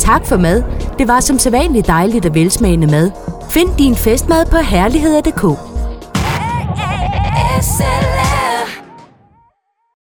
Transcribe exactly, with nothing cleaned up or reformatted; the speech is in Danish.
tak for mad. Det var som sædvanligt dejligt og velsmagende mad. Find din festmad på herligheder punktum d k.